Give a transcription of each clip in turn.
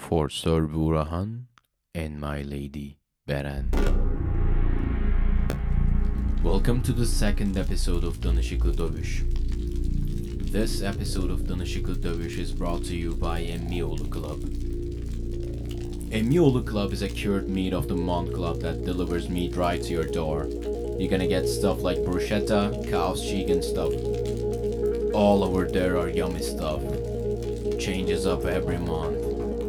for Sir Burahan and my lady Beren. Welcome to the second episode of Danışıklı Dövüş. This episode of Danışıklı Dövüş is brought to you by Emmioğlu Club. Emmioğlu Club is a cured meat of the month club that delivers meat right to your door. You're gonna get stuff like bruschetta, cow's cheek and stuff. All over there are yummy stuff. Changes up every month.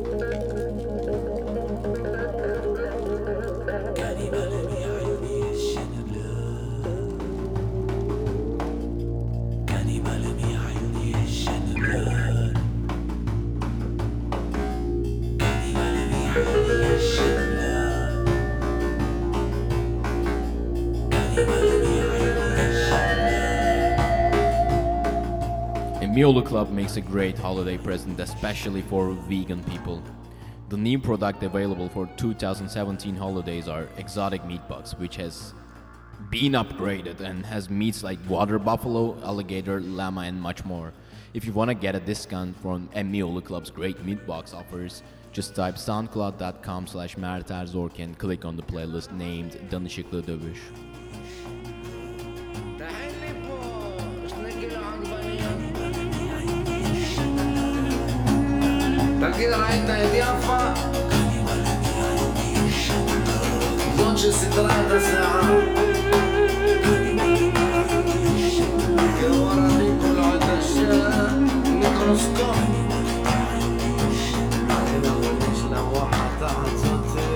Emmioğlu Club makes a great holiday present, especially for vegan people. The new product available for 2017 holidays are exotic meat bucks, which has been upgraded and has meats like water buffalo, alligator, llama, and much more. If you want to get a discount from Emmioğlu Club's great meat box offers, just type soundcloud.com/merterzork and click on the playlist named Danışıklı Dövüş. كده رايتنا يا ضيافة زوج سترات ساعة كده ورا دي كل عدشة ميكروسكوب كده وليش لوحة تحت صوتي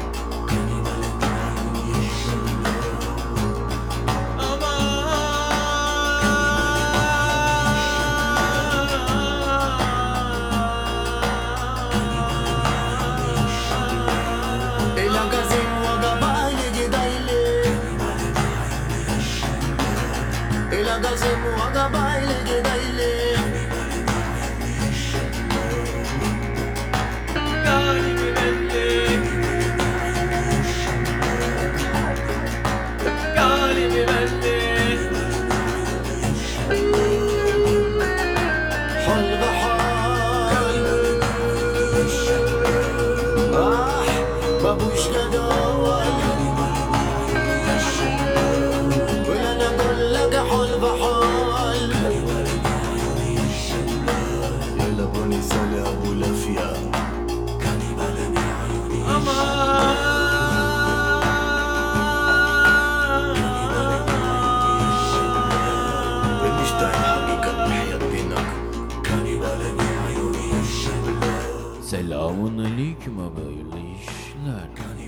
Selamun aleyküm abi, hayırlı işler.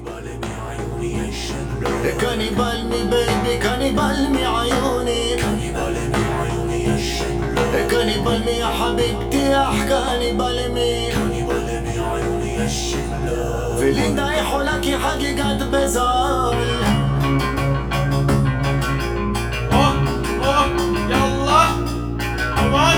كانيبال مي بيبي كانيبال مي عيوني كانيبال مي يا حبيبتي يا كانيبال مي في اللي ضايح لك حقيقة بزار يلا أمان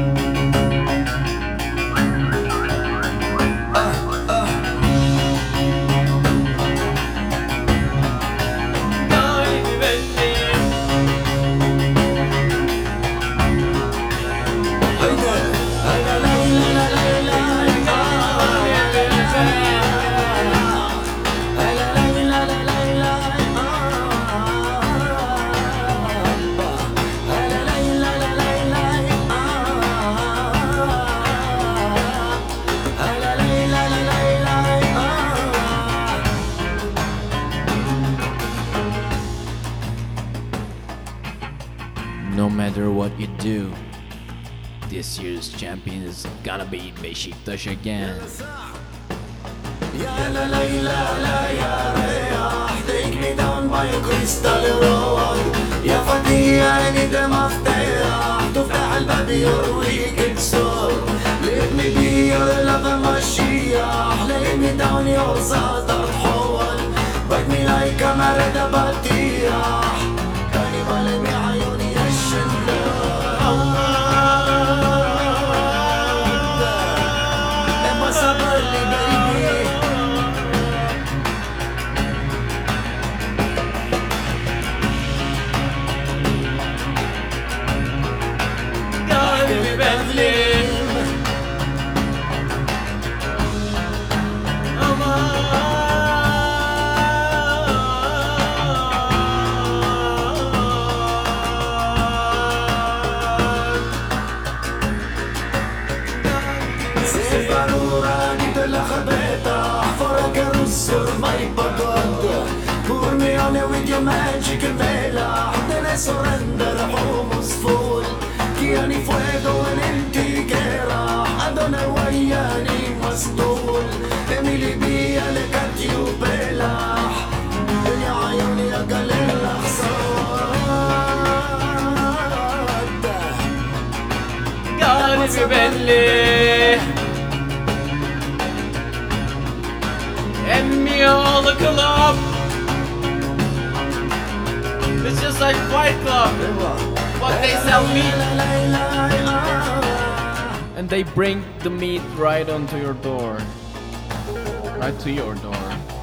No matter what you do, this year's champion is gonna be Beşiktaş again. يا لا ليلى لا يا رياح take me down by a crystal road يا فتية عيني ده مفتاح تفتح الباب يرويك السور let me be your love مشيح lay me down your صدر حول bite me like a مرد بطيح كاني بالمي عيوني لما صبر لي baby قلبي بظلم surrender حمص فول كياني fuego en انتي جراح أدوني وياني مسطول إميلي بيا لكاتيو بلاح يا عيوني يا قليل خسارة Galibi belli Emmioğlu Club. It's just like Fight Club, but they sell meat and they bring the meat right onto your door, right to your door.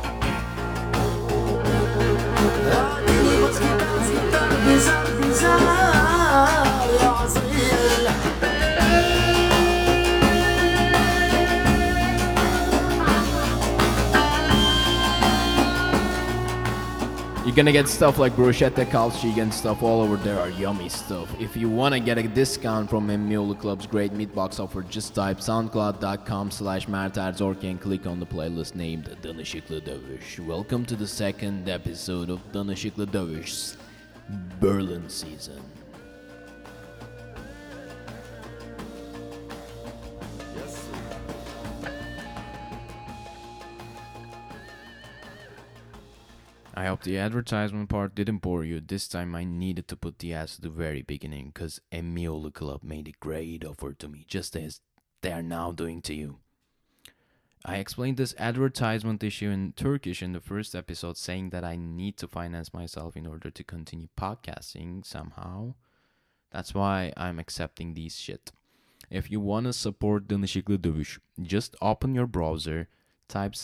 You're gonna get stuff like bruschetta, calci and stuff all over there are yummy stuff. If you wanna get a discount from Emmioğlu Club's great meat box offer, just type soundcloud.com/merterzorki and click on the playlist named Danışıklı Dövüş. Welcome to the second episode of Danışıklı Dövüş's Berlin season. I hope the advertisement part didn't bore you. This time I needed to put the ass at the very beginning because Emmioğlu Club made a great offer to me, just as they are now doing to you. I explained this advertisement issue in Turkish in the first episode, saying that I need to finance myself in order to continue podcasting somehow. That's why I'm accepting these shit. If you want to support Danışıklı Dövüş, just open your browser, type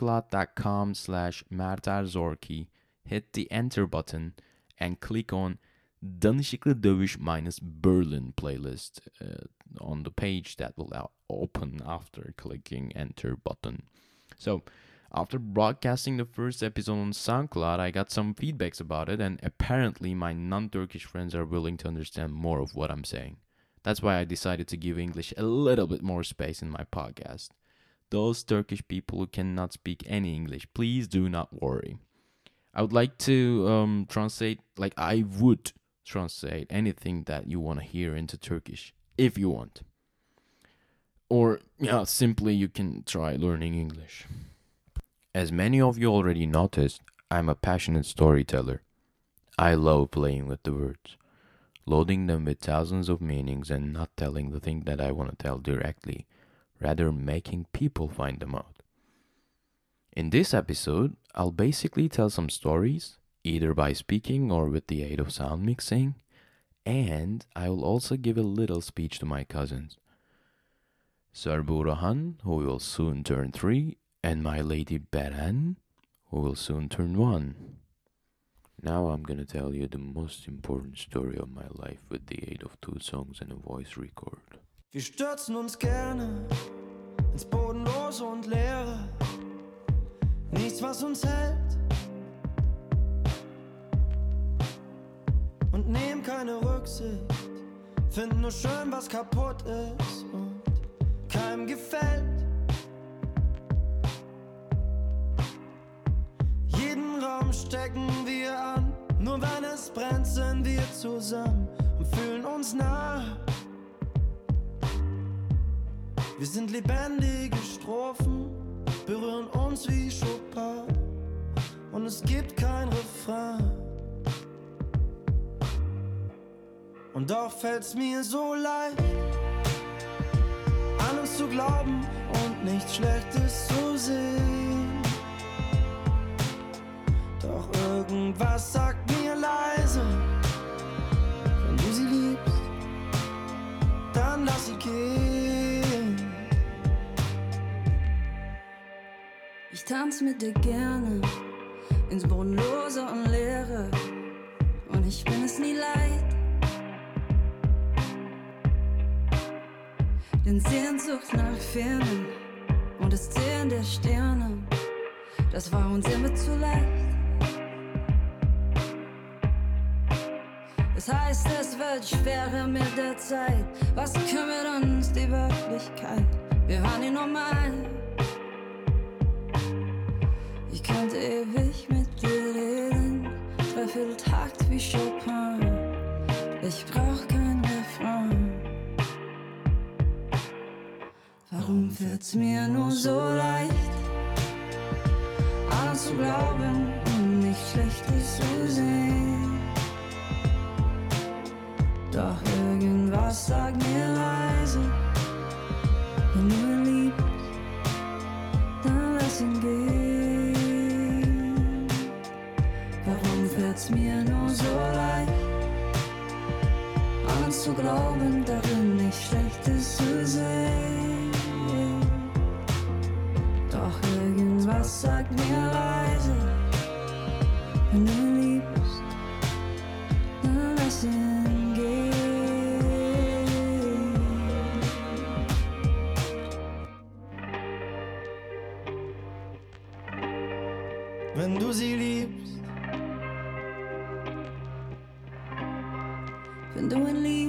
soundcloud.com/merterzorki, hit the enter button, and click on Danışıklı Dövüş minus Berlin playlist on the page that will open after clicking enter button. So, after broadcasting the first episode on SoundCloud, I got some feedbacks about it, and apparently my non-Turkish friends are willing to understand more of what I'm saying. That's why I decided to give English a little bit more space in my podcast. Those Turkish people who cannot speak any English, please do not worry. I would like to translate, like I would translate anything that you want to hear into Turkish, if you want. Or, simply you can try learning English. As many of you already noticed, I'm a passionate storyteller. I love playing with the words, loading them with thousands of meanings and not telling the thing that I want to tell directly, rather making people find them out. In this episode, I'll basically tell some stories, either by speaking or with the aid of sound mixing, and I will also give a little speech to my cousins. Sir Burahan, who will soon turn 3, and my lady Beren, who will soon turn 1. Now I'm gonna tell you the most important story of my life with the aid of 2 songs and a voice record. Wir stürzen uns gerne ins Bodenlose und Leere. Nichts, was uns hält. Und nehmen keine Rücksicht. Finden nur schön, was kaputt ist und keinem gefällt. Jeden Raum stecken wir an. Nur wenn es brennt, sind wir zusammen und fühlen uns nah. Wir sind lebendige Strophen, berühren uns wie Chopin und es gibt kein Refrain. Und doch fällt's mir so leicht, an uns zu glauben und nichts Schlechtes zu sehen. Doch irgendwas sagt mir leise, wenn du sie liebst, dann lass sie gehen. Ich tanz mit dir gerne ins Bodenlose und Leere und ich bin es nie leid. Denn Sehnsucht nach Fernen und das Zählen der Sterne, das war uns immer zu leicht. Das heißt, es wird schwerer mit der Zeit. Was kümmert uns die Wirklichkeit? Wir waren nie normal. Ich könnte ewig mit dir reden, Dreivierteltakt wie Chopin. fällt's mir nur so leicht, an zu glauben und nicht Schlechtes zu sehen. Doch irgendwas sagt mir leise, wenn du ihn liebst, dann lass ihn gehen. Warum fällt's mir nur so leicht, an zu glauben, darin nicht Schlechtes zu sehen? Doch irgendwas sagt mir leise, wenn du ihn liebst, dann lass ihn gehen. Wenn du sie liebst, wenn du ihn liebst,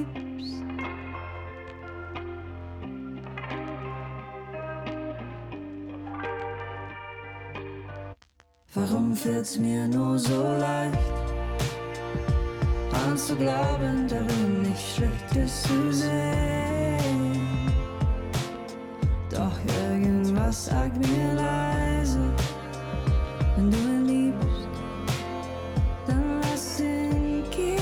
warum fällt's mir nur so leicht, an zu glauben, darin nicht Schlechtes zu sehen? Doch irgendwas sagt mir leise, wenn du ihn liebst, dann lass ihn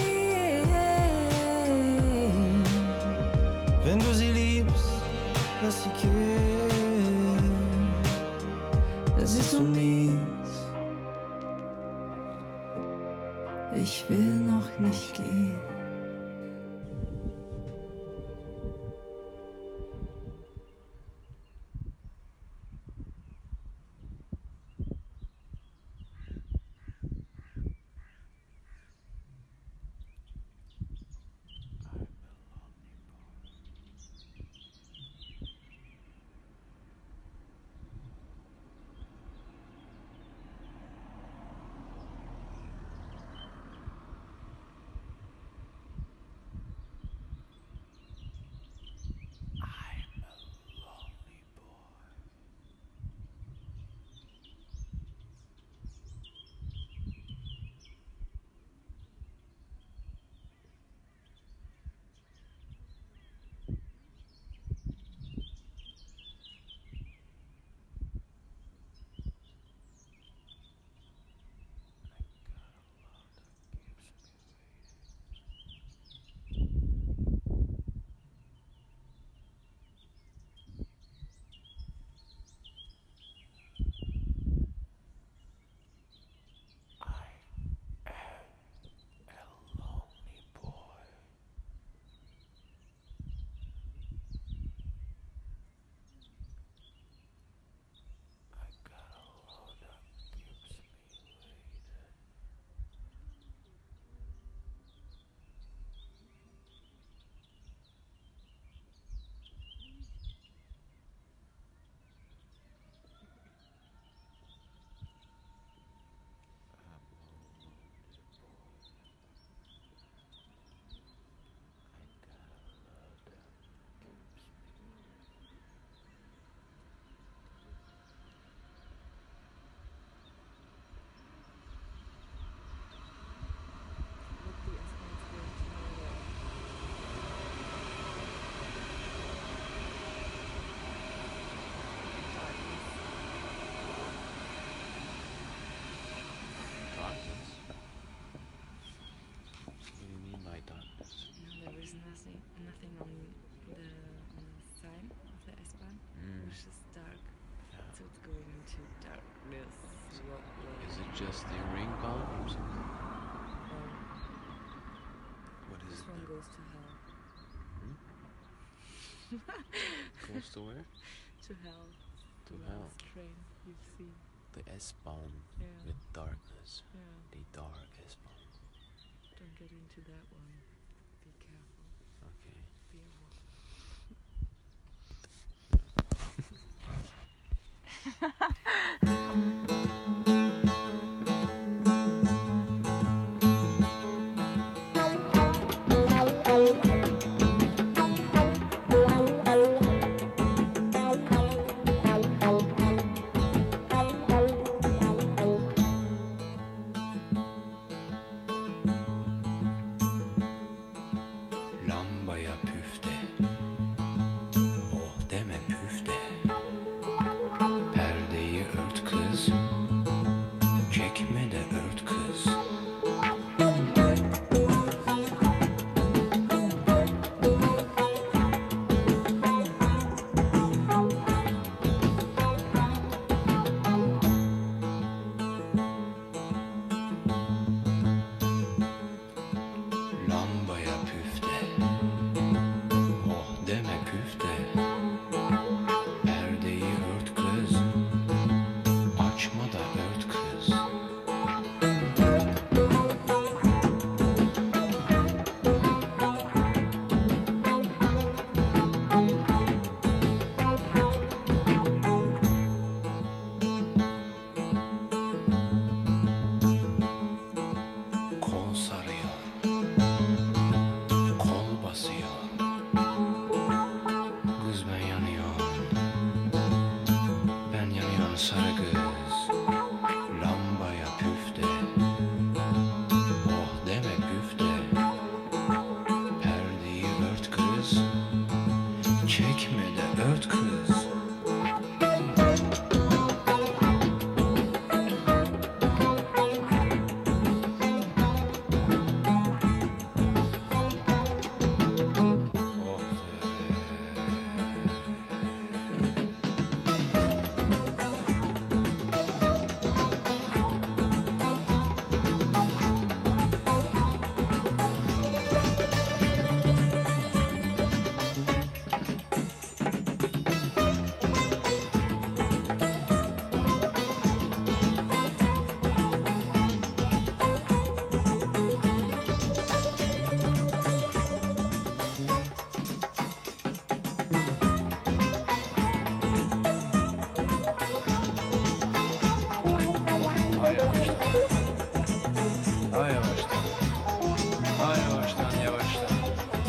gehen. wenn du sie liebst, lass sie gehen. Das ist so mies, ich will noch nicht gehen. Nothing on the sign of the S-Bahn, which is dark. Yeah. So it's going into darkness. Is it just the ring gone or something? What is This it one then? goes to hell. Goes to where? To hell. To The hell. last train you've seen. The S-Bahn Yeah. with darkness. Yeah. The dark S-Bahn. Don't get into that one. Be careful. Okay. Be a wolf. Lamba ja pufte, og det med pufte. sarı kız, lambaya püfte, oh deme güfte, perdeyi ört kız, çekme de ört kız. Daha yavaştan. Daha yavaştan, yavaştan.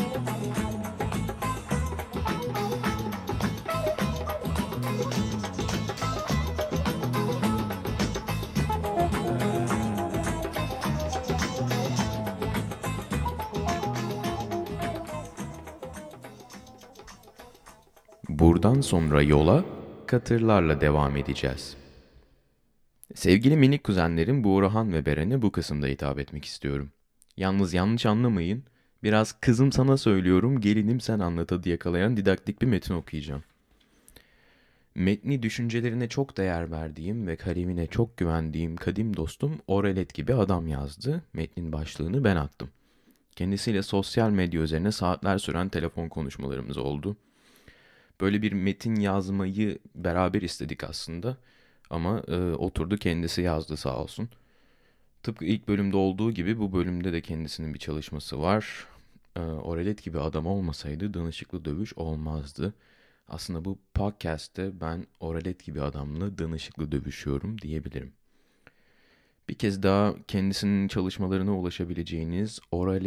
Buradan sonra yola katırlarla devam edeceğiz. Sevgili minik kuzenlerim Buğrahan ve Beren'e bu kısımda hitap etmek istiyorum. Yalnız yanlış anlamayın, biraz kızım sana söylüyorum, gelinim sen anlat diye yakalayan didaktik bir metin okuyacağım. Metni düşüncelerine çok değer verdiğim ve kalemine çok güvendiğim kadim dostum Orelet gibi adam yazdı. Metnin başlığını ben attım. Kendisiyle sosyal medya üzerine saatler süren telefon konuşmalarımız oldu. Böyle bir metin yazmayı beraber istedik aslında. Ama oturdu kendisi yazdı sağ olsun. Tıpkı ilk bölümde olduğu gibi bu bölümde de kendisinin bir çalışması var. Orelet gibi adam olmasaydı danışıklı dövüş olmazdı. Aslında bu podcast'te ben Orelet gibi adamla danışıklı dövüşüyorum diyebilirim. Bir kez daha kendisinin çalışmalarına ulaşabileceğiniz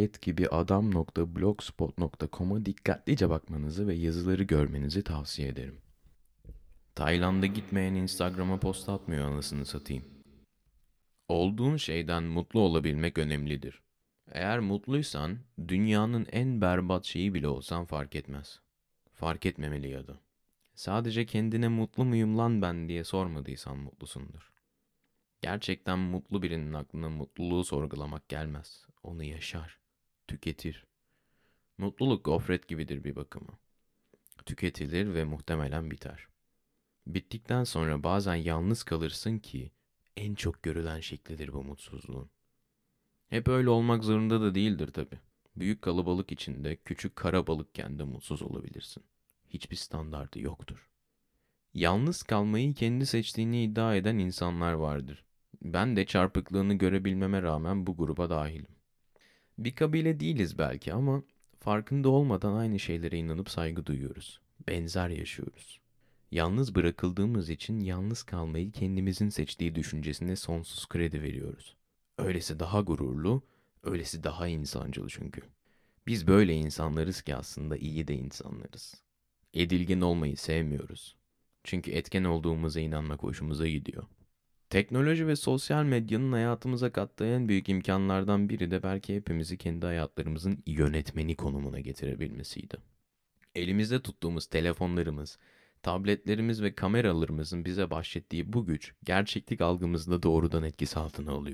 oraletgibiadam.blogspot.com'a dikkatlice bakmanızı ve yazıları görmenizi tavsiye ederim. Tayland'a gitmeyen Instagram'a post atmıyor anasını satayım. Olduğun şeyden mutlu olabilmek önemlidir. Eğer mutluysan dünyanın en berbat şeyi bile olsan fark etmez. Fark etmemeli ya da. Sadece kendine mutlu muyum lan ben diye sormadıysan mutlusundur. Gerçekten mutlu birinin aklına mutluluğu sorgulamak gelmez. Onu yaşar, tüketir. Mutluluk gofret gibidir bir bakıma. Tüketilir ve muhtemelen biter. Bittikten sonra bazen yalnız kalırsın ki en çok görülen şeklidir bu mutsuzluğun. Hep öyle olmak zorunda da değildir tabii. Büyük kalabalık içinde küçük kara balıkken de mutsuz olabilirsin. Hiçbir standardı yoktur. Yalnız kalmayı kendi seçtiğini iddia eden insanlar vardır. Ben de çarpıklığını görebilmeme rağmen bu gruba dahilim. Bir kabile değiliz belki ama farkında olmadan aynı şeylere inanıp saygı duyuyoruz. Benzer yaşıyoruz. Yalnız bırakıldığımız için yalnız kalmayı kendimizin seçtiği düşüncesine sonsuz kredi veriyoruz. Öylesi daha gururlu, öylesi daha insancıl çünkü. Biz böyle insanlarız ki aslında iyi de insanlarız. Edilgen olmayı sevmiyoruz. Çünkü etken olduğumuza inanmak hoşumuza gidiyor. Teknoloji ve sosyal medyanın hayatımıza kattığı en büyük imkanlardan biri de belki hepimizi kendi hayatlarımızın yönetmeni konumuna getirebilmesiydi. Elimizde tuttuğumuz telefonlarımız, tabletlerimiz ve kameralarımızın bize bahşettiği bu güç gerçeklik algımızda doğrudan etkisi altına alıyor.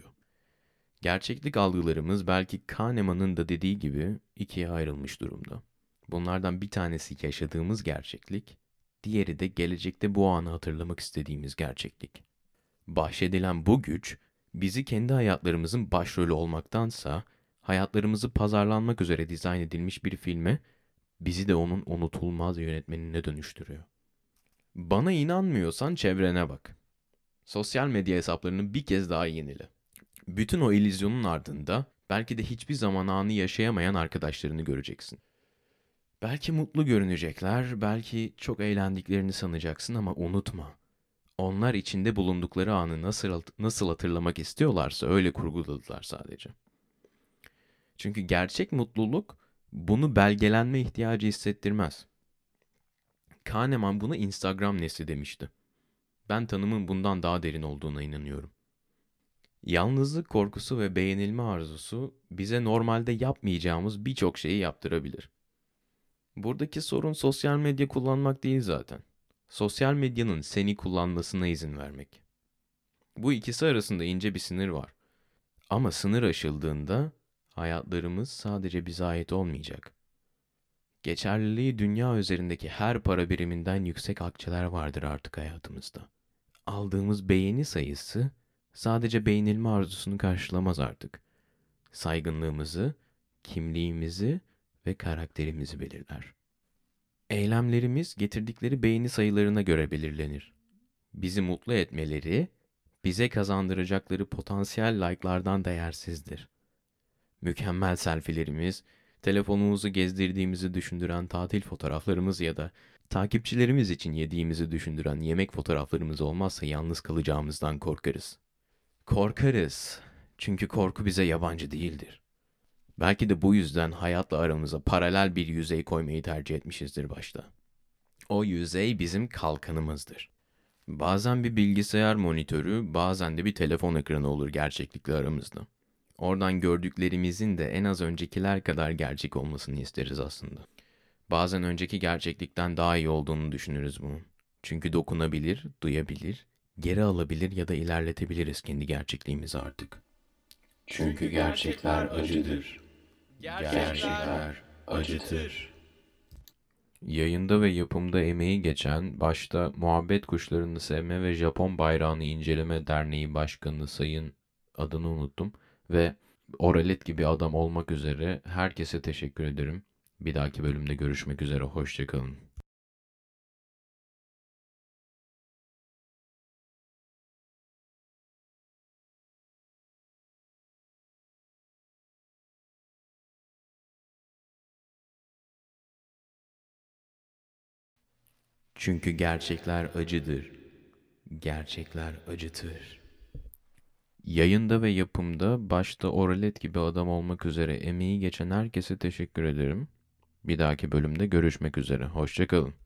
Gerçeklik algılarımız belki Kahneman'ın da dediği gibi ikiye ayrılmış durumda. Bunlardan bir tanesi yaşadığımız gerçeklik, diğeri de gelecekte bu anı hatırlamak istediğimiz gerçeklik. Bahşedilen bu güç bizi kendi hayatlarımızın başrolü olmaktansa hayatlarımızı pazarlanmak üzere dizayn edilmiş bir filme, bizi de onun unutulmaz yönetmenine dönüştürüyor. Bana inanmıyorsan çevrene bak. Sosyal medya hesaplarını bir kez daha yenile. Bütün o illüzyonun ardında belki de hiçbir zaman anı yaşayamayan arkadaşlarını göreceksin. Belki mutlu görünecekler, belki çok eğlendiklerini sanacaksın ama unutma. Onlar içinde bulundukları anı nasıl hatırlamak istiyorlarsa öyle kurguladılar sadece. Çünkü gerçek mutluluk bunu belgelenme ihtiyacı hissettirmez. Kahneman buna Instagram nesli demişti. Ben tanımın bundan daha derin olduğuna inanıyorum. Yalnızlık korkusu ve beğenilme arzusu bize normalde yapmayacağımız birçok şeyi yaptırabilir. Buradaki sorun sosyal medya kullanmak değil zaten. Sosyal medyanın seni kullanmasına izin vermek. Bu ikisi arasında ince bir sınır var. Ama sınır aşıldığında hayatlarımız sadece bize ait olmayacak. Geçerliliği dünya üzerindeki her para biriminden yüksek akçeler vardır artık hayatımızda. Aldığımız beğeni sayısı sadece beğenilme arzusunu karşılamaz artık. Saygınlığımızı, kimliğimizi ve karakterimizi belirler. Eylemlerimiz getirdikleri beğeni sayılarına göre belirlenir. Bizi mutlu etmeleri, bize kazandıracakları potansiyel like'lardan değersizdir. Mükemmel selfie'lerimiz, telefonumuzu gezdirdiğimizi düşündüren tatil fotoğraflarımız ya da takipçilerimiz için yediğimizi düşündüren yemek fotoğraflarımız olmazsa yalnız kalacağımızdan korkarız. Korkarız. Çünkü korku bize yabancı değildir. Belki de bu yüzden hayatla aramıza paralel bir yüzey koymayı tercih etmişizdir başta. O yüzey bizim kalkanımızdır. Bazen bir bilgisayar monitörü, bazen de bir telefon ekranı olur gerçeklikle aramızda. Oradan gördüklerimizin de en az öncekiler kadar gerçek olmasını isteriz aslında. Bazen önceki gerçeklikten daha iyi olduğunu düşünürüz bunun. Çünkü dokunabilir, duyabilir, geri alabilir ya da ilerletebiliriz kendi gerçekliğimizi artık. Çünkü gerçekler acıdır. Gerçekler acıtır. Yayında ve yapımda emeği geçen, başta Muhabbet Kuşlarını Sevme ve Japon Bayrağını İnceleme Derneği Başkanı Sayın, adını unuttum, ve Oralet gibi adam olmak üzere herkese teşekkür ederim. Bir dahaki bölümde görüşmek üzere, hoşça kalın. Çünkü gerçekler acıdır. Gerçekler acıtır. Yayında ve yapımda başta Oralet gibi adam olmak üzere emeği geçen herkese teşekkür ederim. Bir dahaki bölümde görüşmek üzere. Hoşça kalın.